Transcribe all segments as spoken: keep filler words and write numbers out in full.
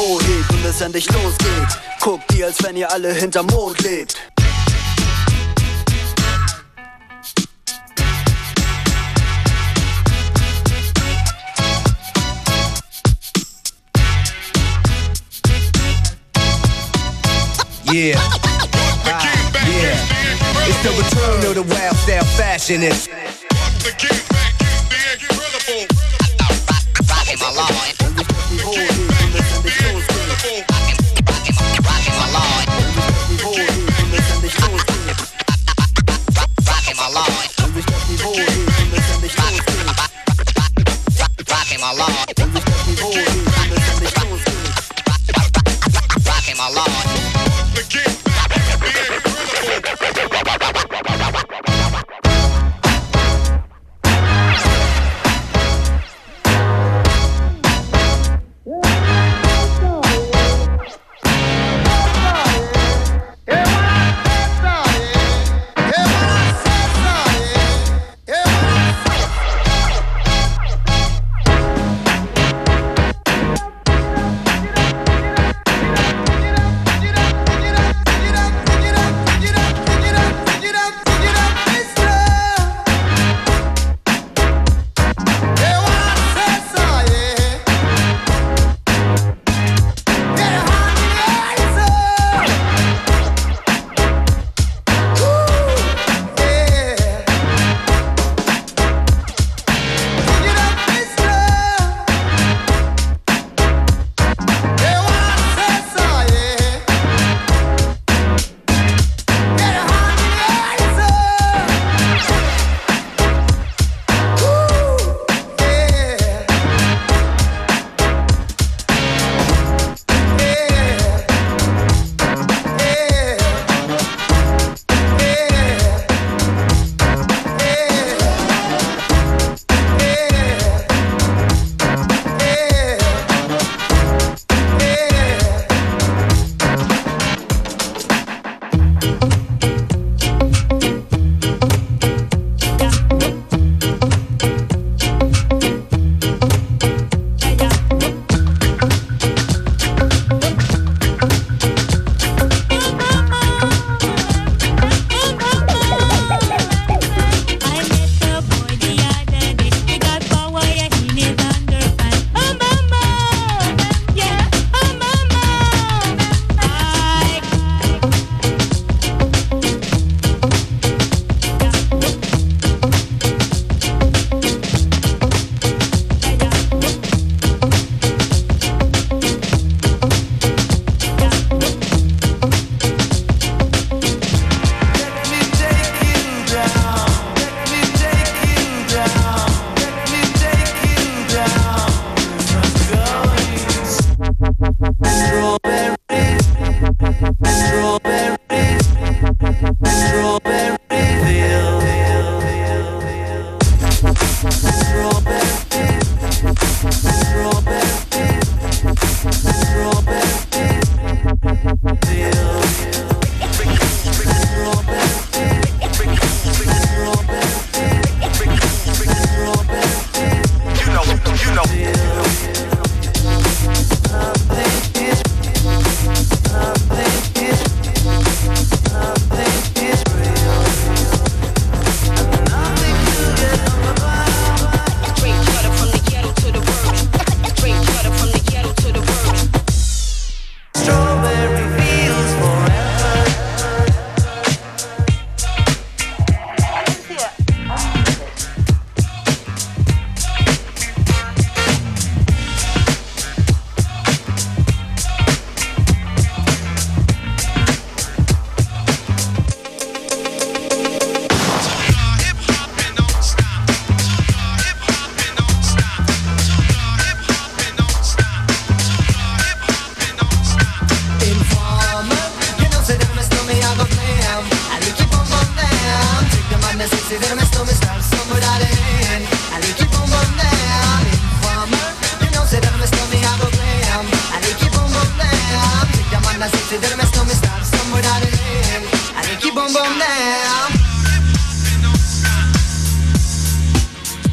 hoch hebt und es endlich losgeht. Guckt ihr, als wenn ihr alle hinterm Mond lebt. Yeah, ah, yeah. It's the return of the wild style fashionist. The king back is the incredible. Rockin' my Lord. Rockin' my Lord. Rockin' my Lord. Rockin' my Lord. Rockin' my Lord. The king back is the incredible.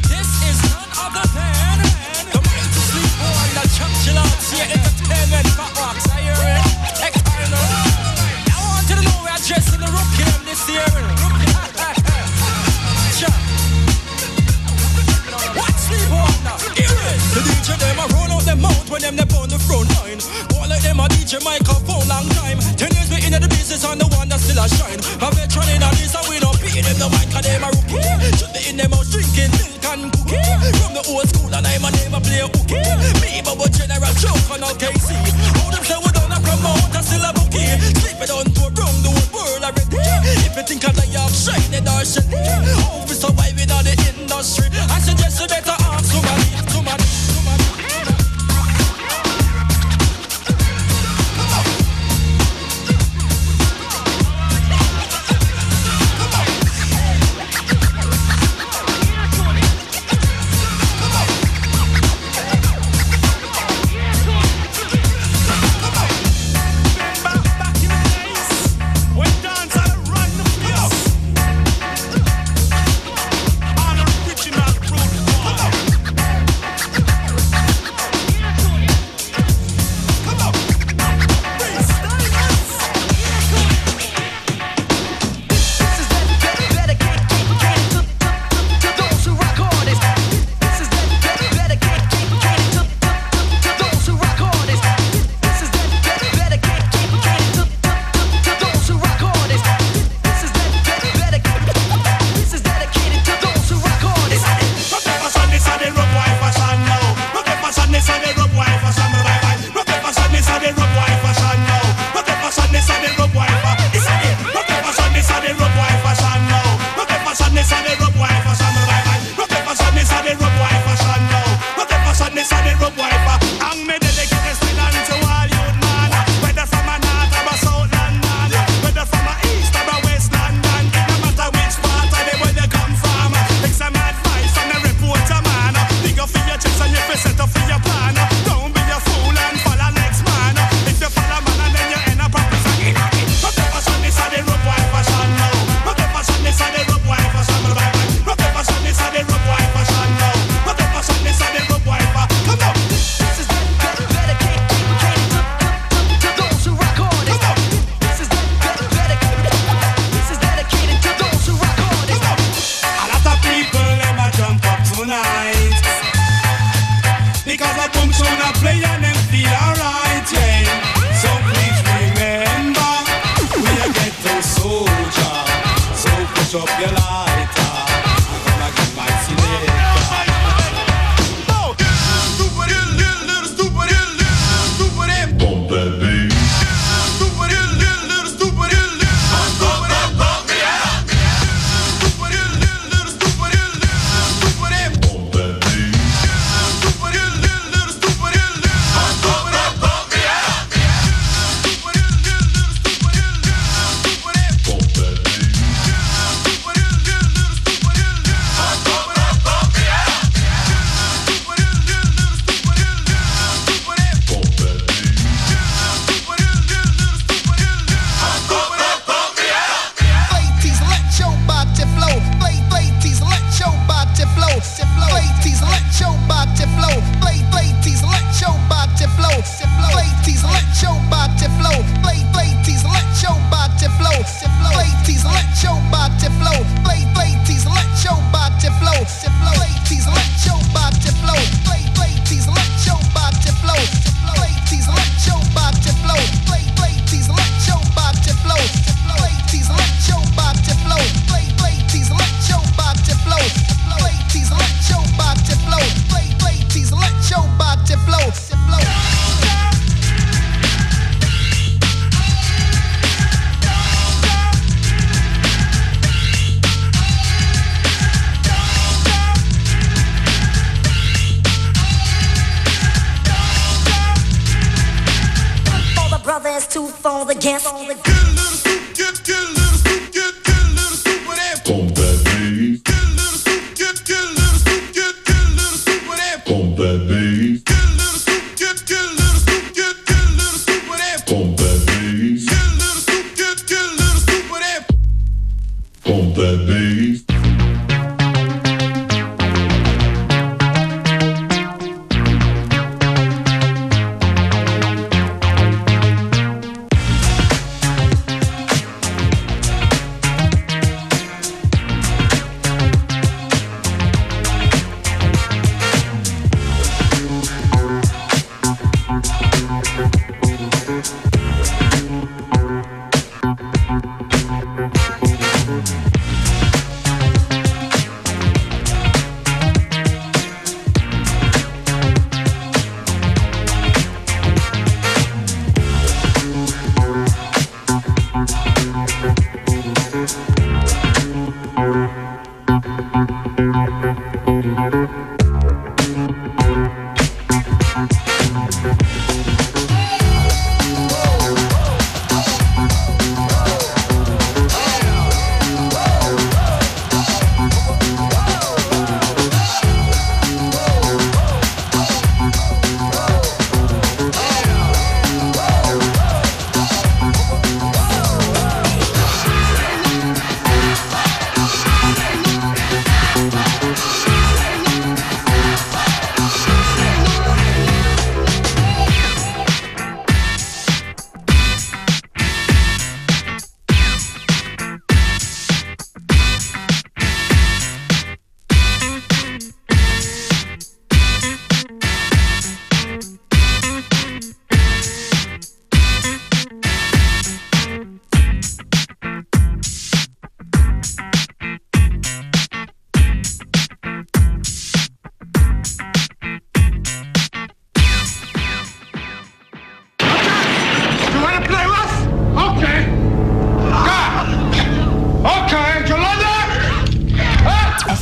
Entertainment still a shine. A veteran in a this and we don't pay them no mind cause them a rookie. Should be in them house drinking milk and cookie. From the old school and I'm a never play hooky. Me Bubba General Choke on all K C. All them say we don't a promote a still a bookie. Sleep it on to around the whole world already. If you think I die of shining or shit, how we survive in the industry? I suggest you better ask somebody, somebody, somebody.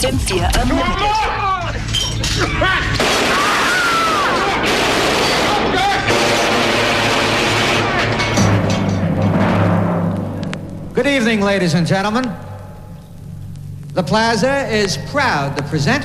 M four Unlimited. Good evening, ladies and gentlemen. The Plaza is proud to present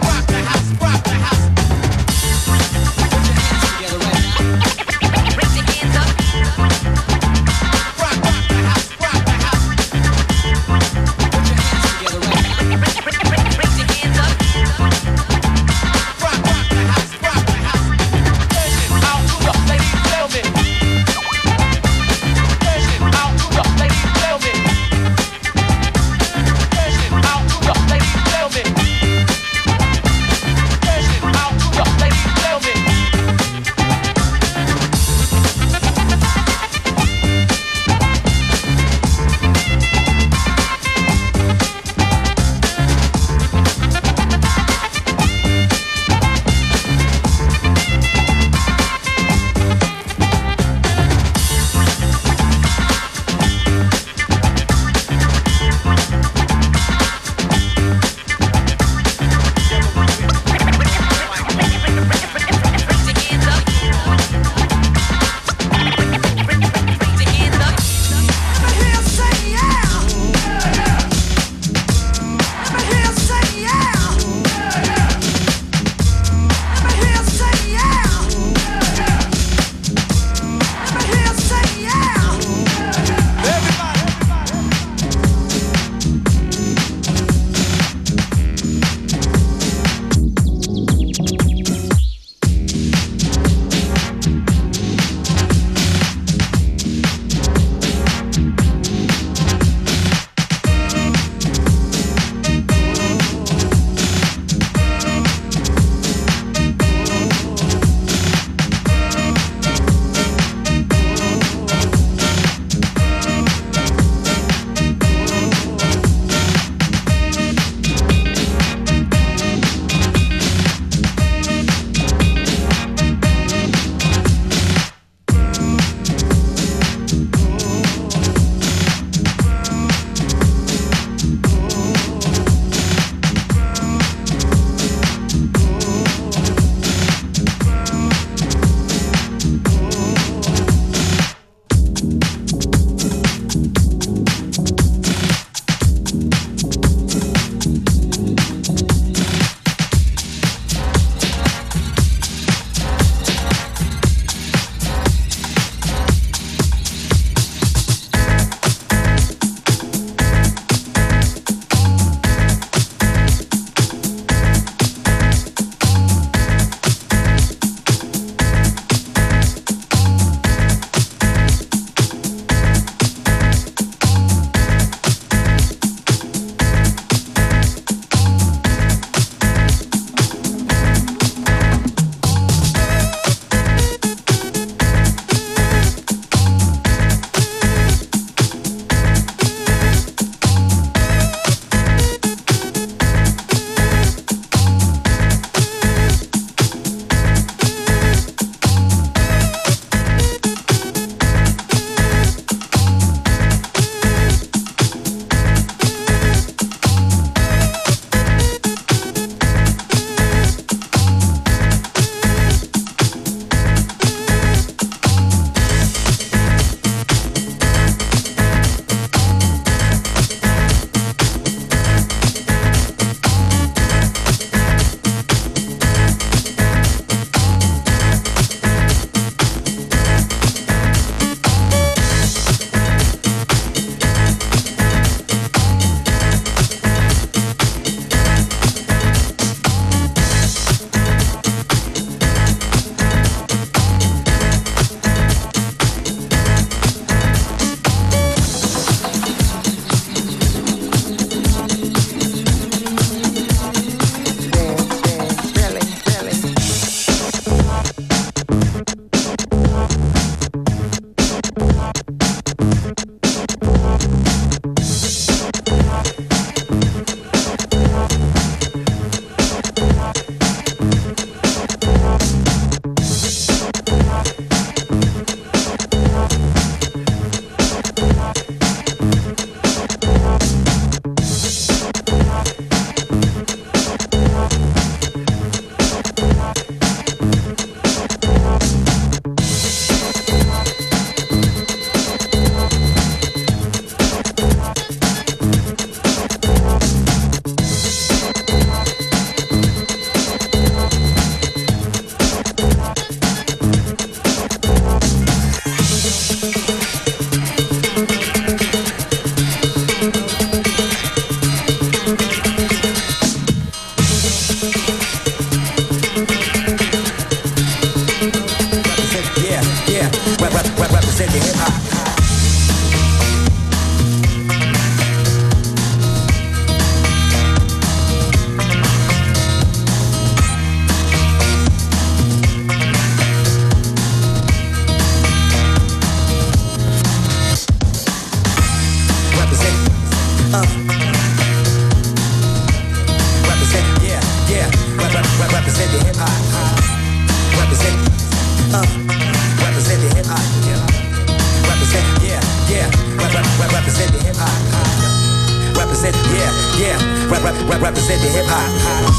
Together right now. represent the hip hop. Represent the hip hop.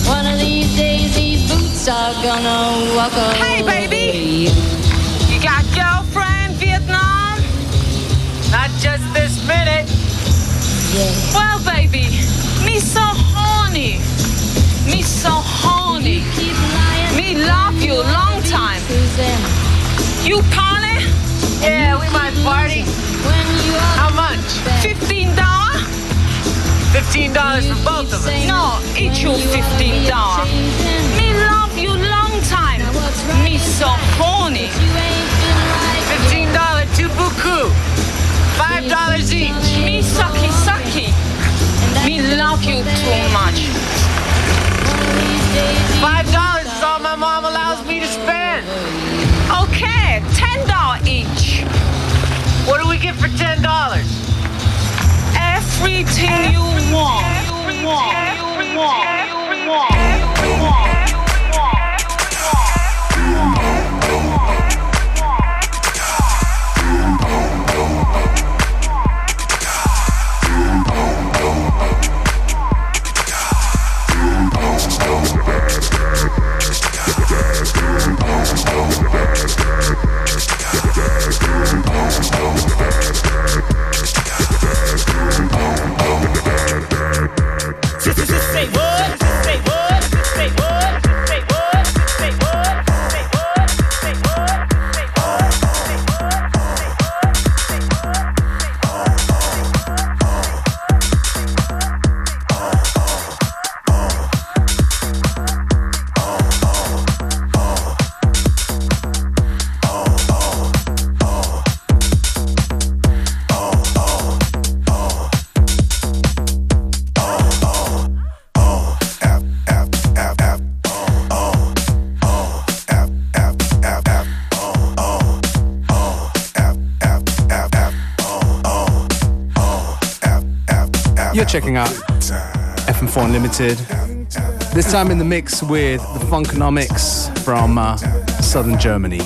One of these days these boots are gonna walk away. Hey, baby! You got girlfriend, Vietnam? Not just this minute. Yeah. Well, baby, me so horny. Me so horny. Me love you long time. You party? Yeah, we might party. How much? Fifteen dollars? Fifteen dollars for both of us. No, each you fifteen dollars. Me love you long time. Me so horny. Fifteen dollars, two buku. Five dollars each. Me sucky sucky. Me love you too much. Five dollars is all my mom allows me to spend. Okay, ten dollars each. What do we get for ten dollars? Everything you want. You want. You want. You want. You want. Say what? Say what? Say what? Say what? Say what? Say what? Say what? You're checking out F M four Unlimited. This time in the mix with the Funkonomics from uh, southern Germany.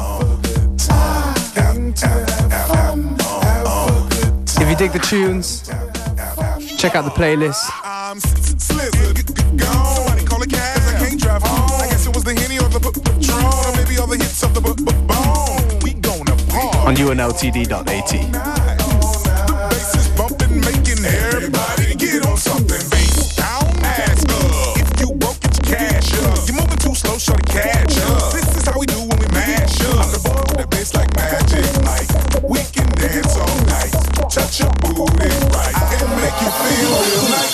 If you dig the tunes, check out the playlist. I'm Slizzard, somebody call a cab, I can't drive home. I guess it was the Henny or the Patron, or maybe all the hits of the Bone. We gonna party on U N L T D dot A T. The bass is bumping, making everybody get on something. Bass down, ass up. If you broke, get your cash up. You're moving too slow, shorty, catch up. This is how we do when we mash up. I'm the boy with that bass like magic, like we can dance all night. Touch your booty right and make you feel real nice.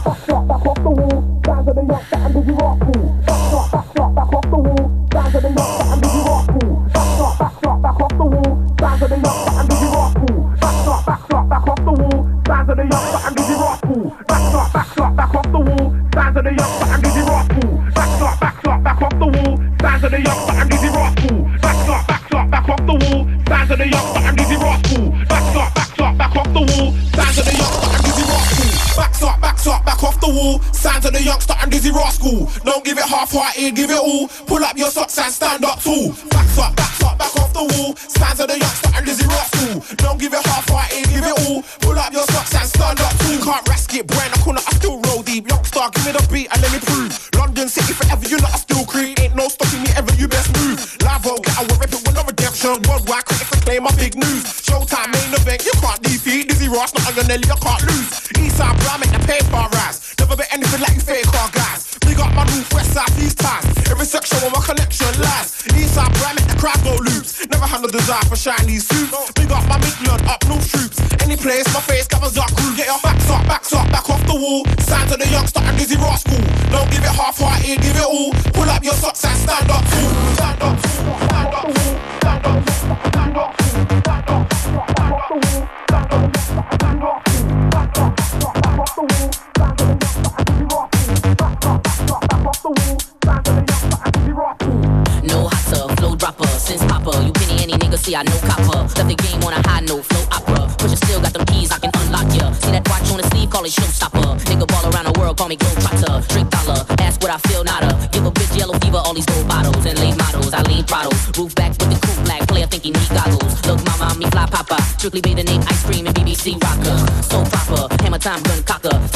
Don't give it half-hearted, give it all. Pull up your socks and stand up tall. Backs up, backs up, back off the wall. Stands of the youngster and Lizzie Rascal. Don't give it half-hearted, give it all. Pull up your socks and stand up tall. Can't risk it, brain, I corner, I still roll deep. Youngster, give me the beat and let me prove. London City forever, you know I still creep. Ain't no stopping me ever, you best move. Lavo, get away, rip it with no redemption. Worldwide critics acclaim my big news. Showtime main event, you can't defeat. Dizzy Ross, not on your Nelly, I can't lose. Eastside, bro, make the paper rise. Never bet anything like you fake car guys. Big up my north, west, south, east ties. Every section where my connection lies. Eastside, bro, make the crowd go loops. Never had no desire for shiny suits. Big up my Midland, up north troops. Any place, my face covers up crew. Get your backs up, backs up, back off the wall. Signs of the youngster and Dizzy Rascal. Don't give it half-hearted, give it all. Pull up your socks and stand up too. Stand up too, stand up too, stand up too, stand up too, stand up too, stand up too, stand up too, stand up too, back up, back off the wall. Signs of the youngster and Dizzy Rascal. Back up, back up, back off the wall. Signs of the youngster and Dizzy Rascal. No hotter, flow dropper, since Papa. You penny any nigga, see I know copper. Left the game on a high note, flow opera. Push it still got them keys, I can unlock ya. See that watch on the sleeve, call it showstopper. Nigga ball around the world, call me Globetrotter. Drink dollar, ask what I feel, nada. Give a bitch yellow fever, all these gold bottles. And late models, I lean throttles. Roof back with the coupe black, player thinking he goggles. Look mama, me fly papa. Strictly bathing in ice cream and B B C rocker. So proper, hammer time gun cocker. Top shotter,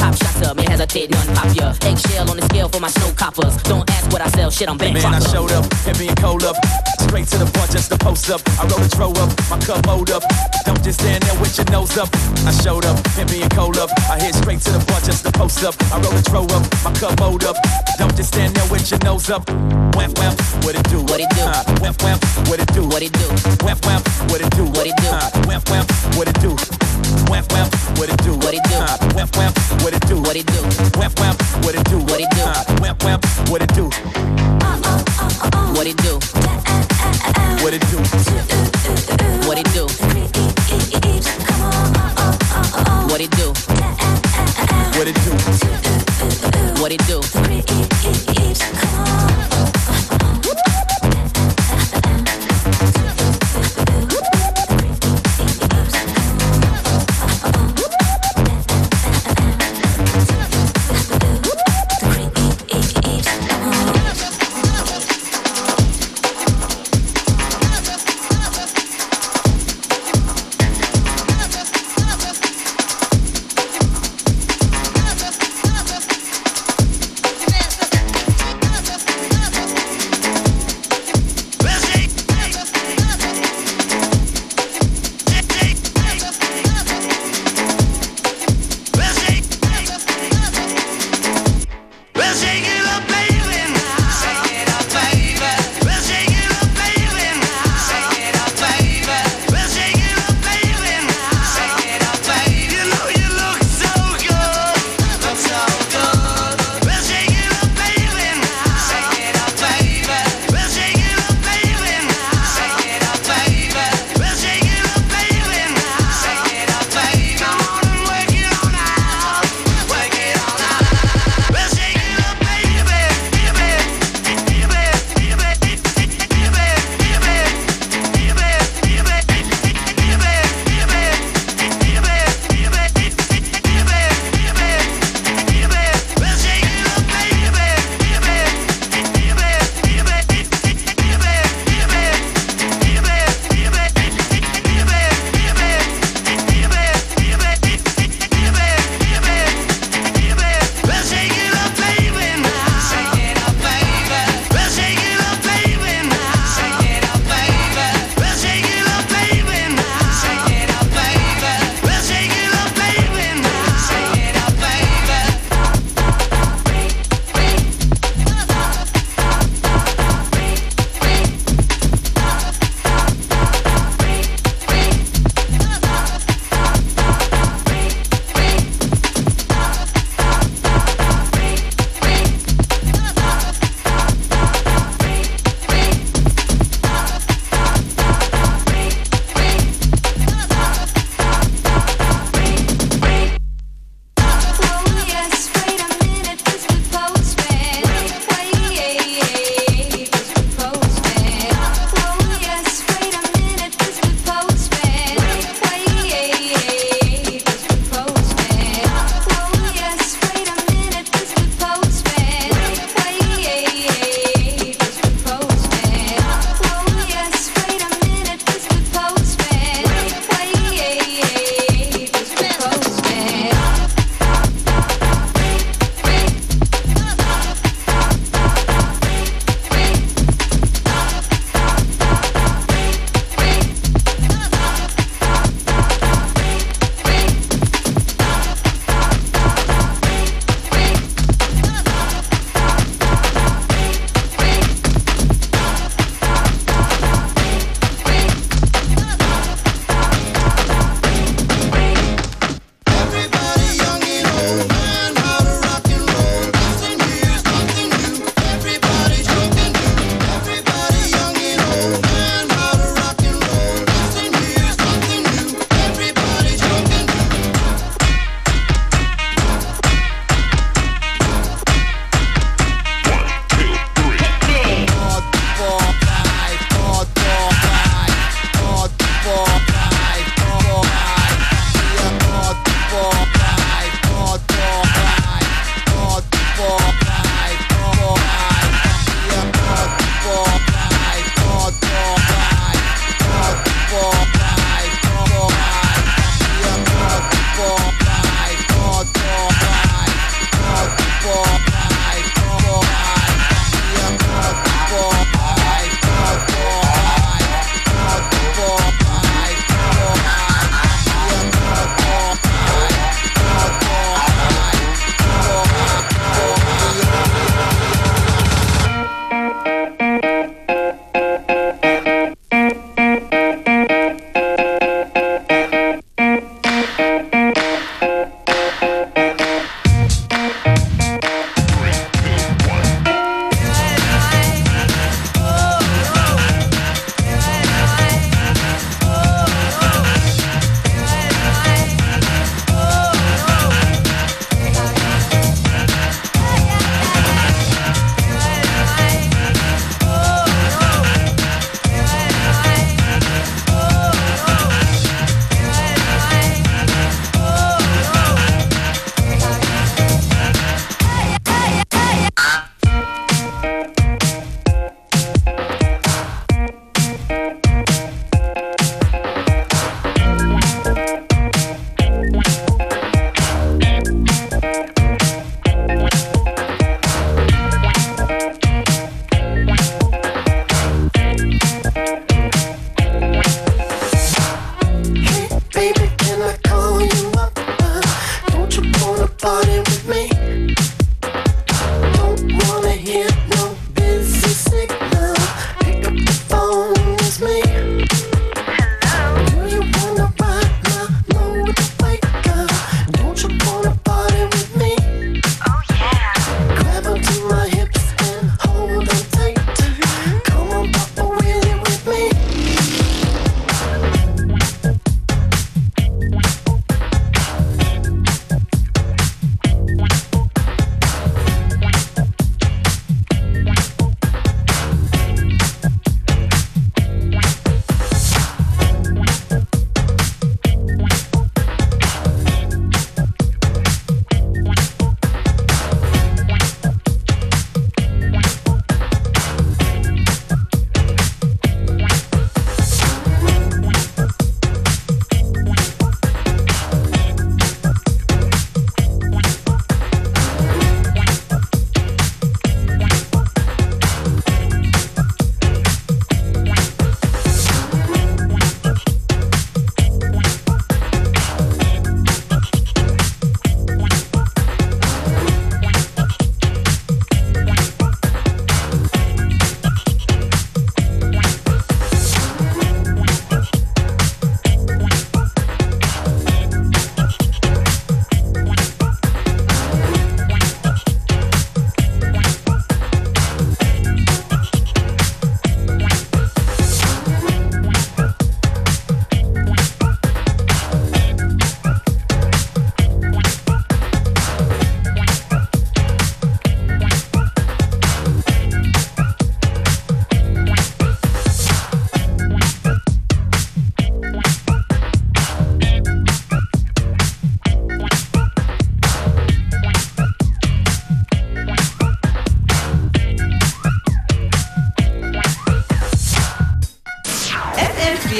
ya. Me hesitate, none pop ya. Eggshell on the scale for my snow coppers. Don't ask what I sell, shit, I'm bankrupt. Man, I showed up, heavy and cold up. Straight to the point, just to post up. I roll a throw up, my cup hold up. Don't just stand there with your nose up. I showed up, heavy and cold up. I head straight to the point, just to post up. I roll a throw up, my cup hold up. Don't just stand there with your nose up. Wamp wamp, what it do? What it do? Uh, wamp wamp, what it do? What it do? Wamp wamp, what it do? What it do? Uh, wamp wamp, what it do? Wamp wamp, what it do? What it do? Uh, wamp wamp, what it do? What it do? Wamp wamp, what it do? What it do? Uh, wamp wamp, what it do? What it do? What it do? What it do? What it do? What it do? What it do?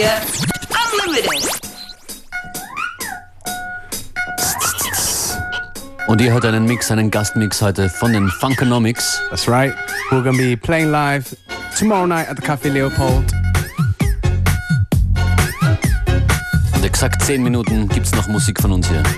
Radio Unlimited. Und ihr hört einen Mix, einen Gastmix heute von den Funkonomics. That's right. We're gonna be playing live tomorrow night at the Café Leopold. Und exakt zehn Minuten gibt's noch Musik von uns hier.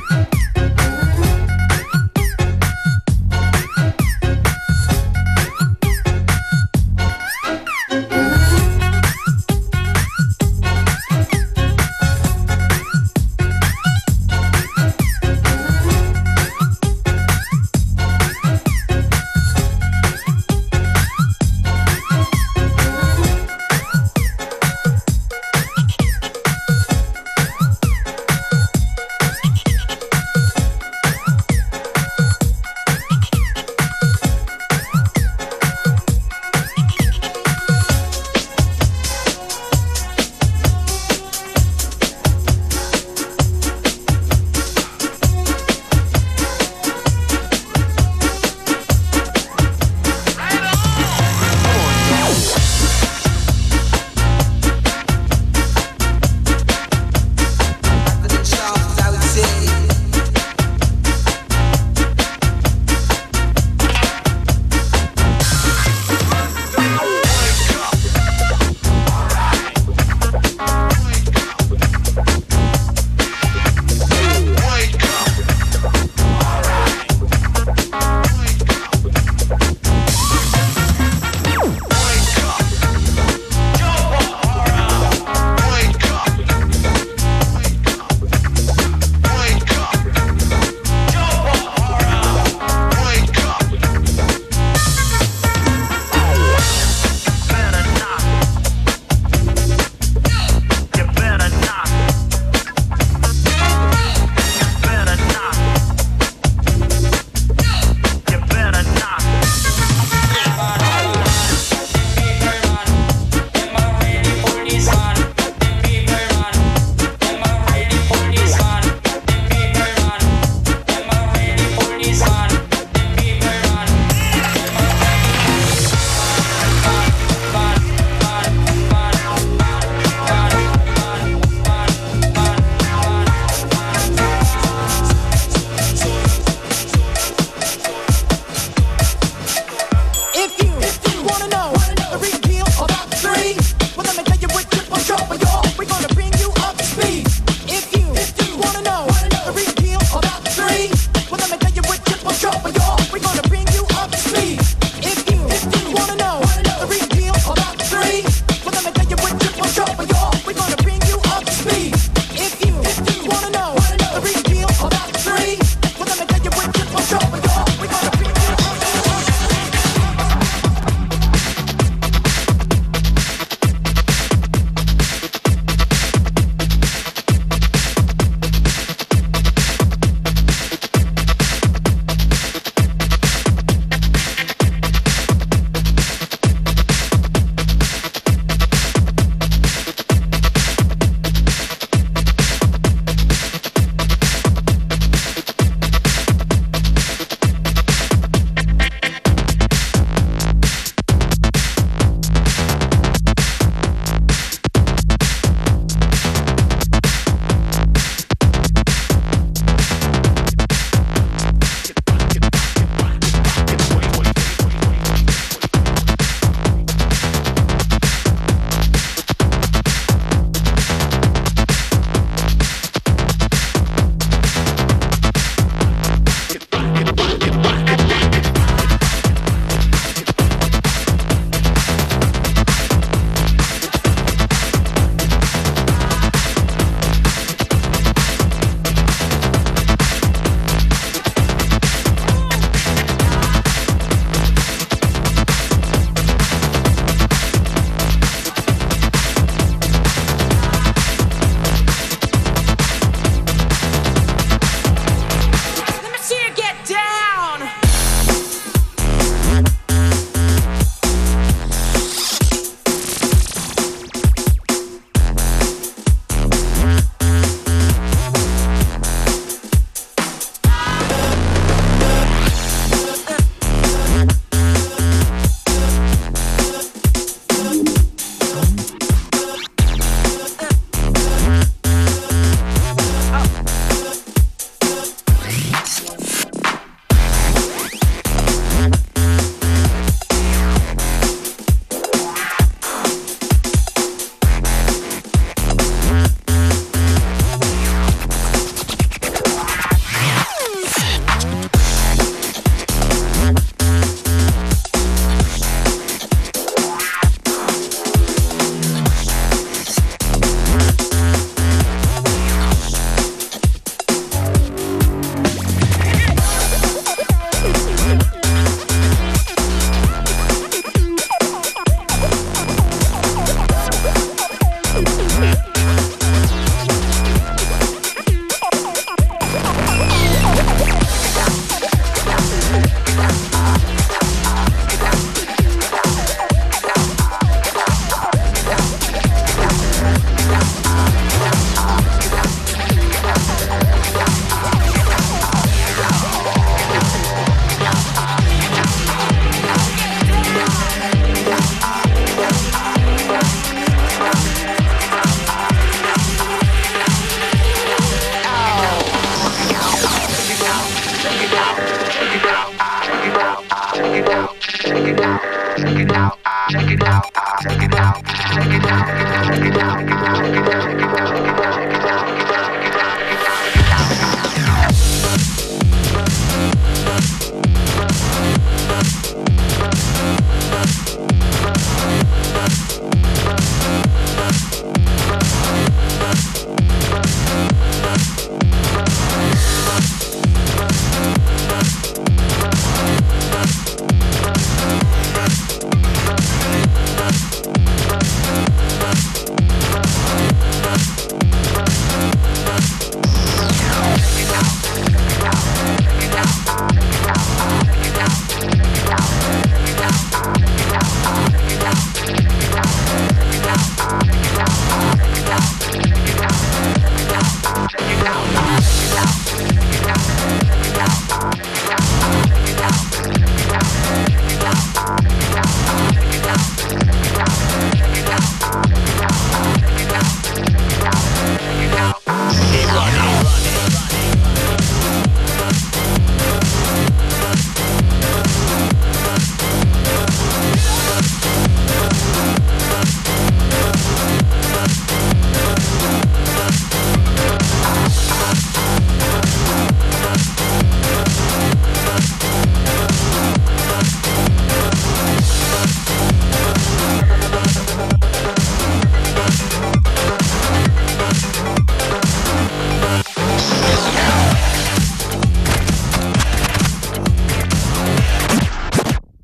Check it out.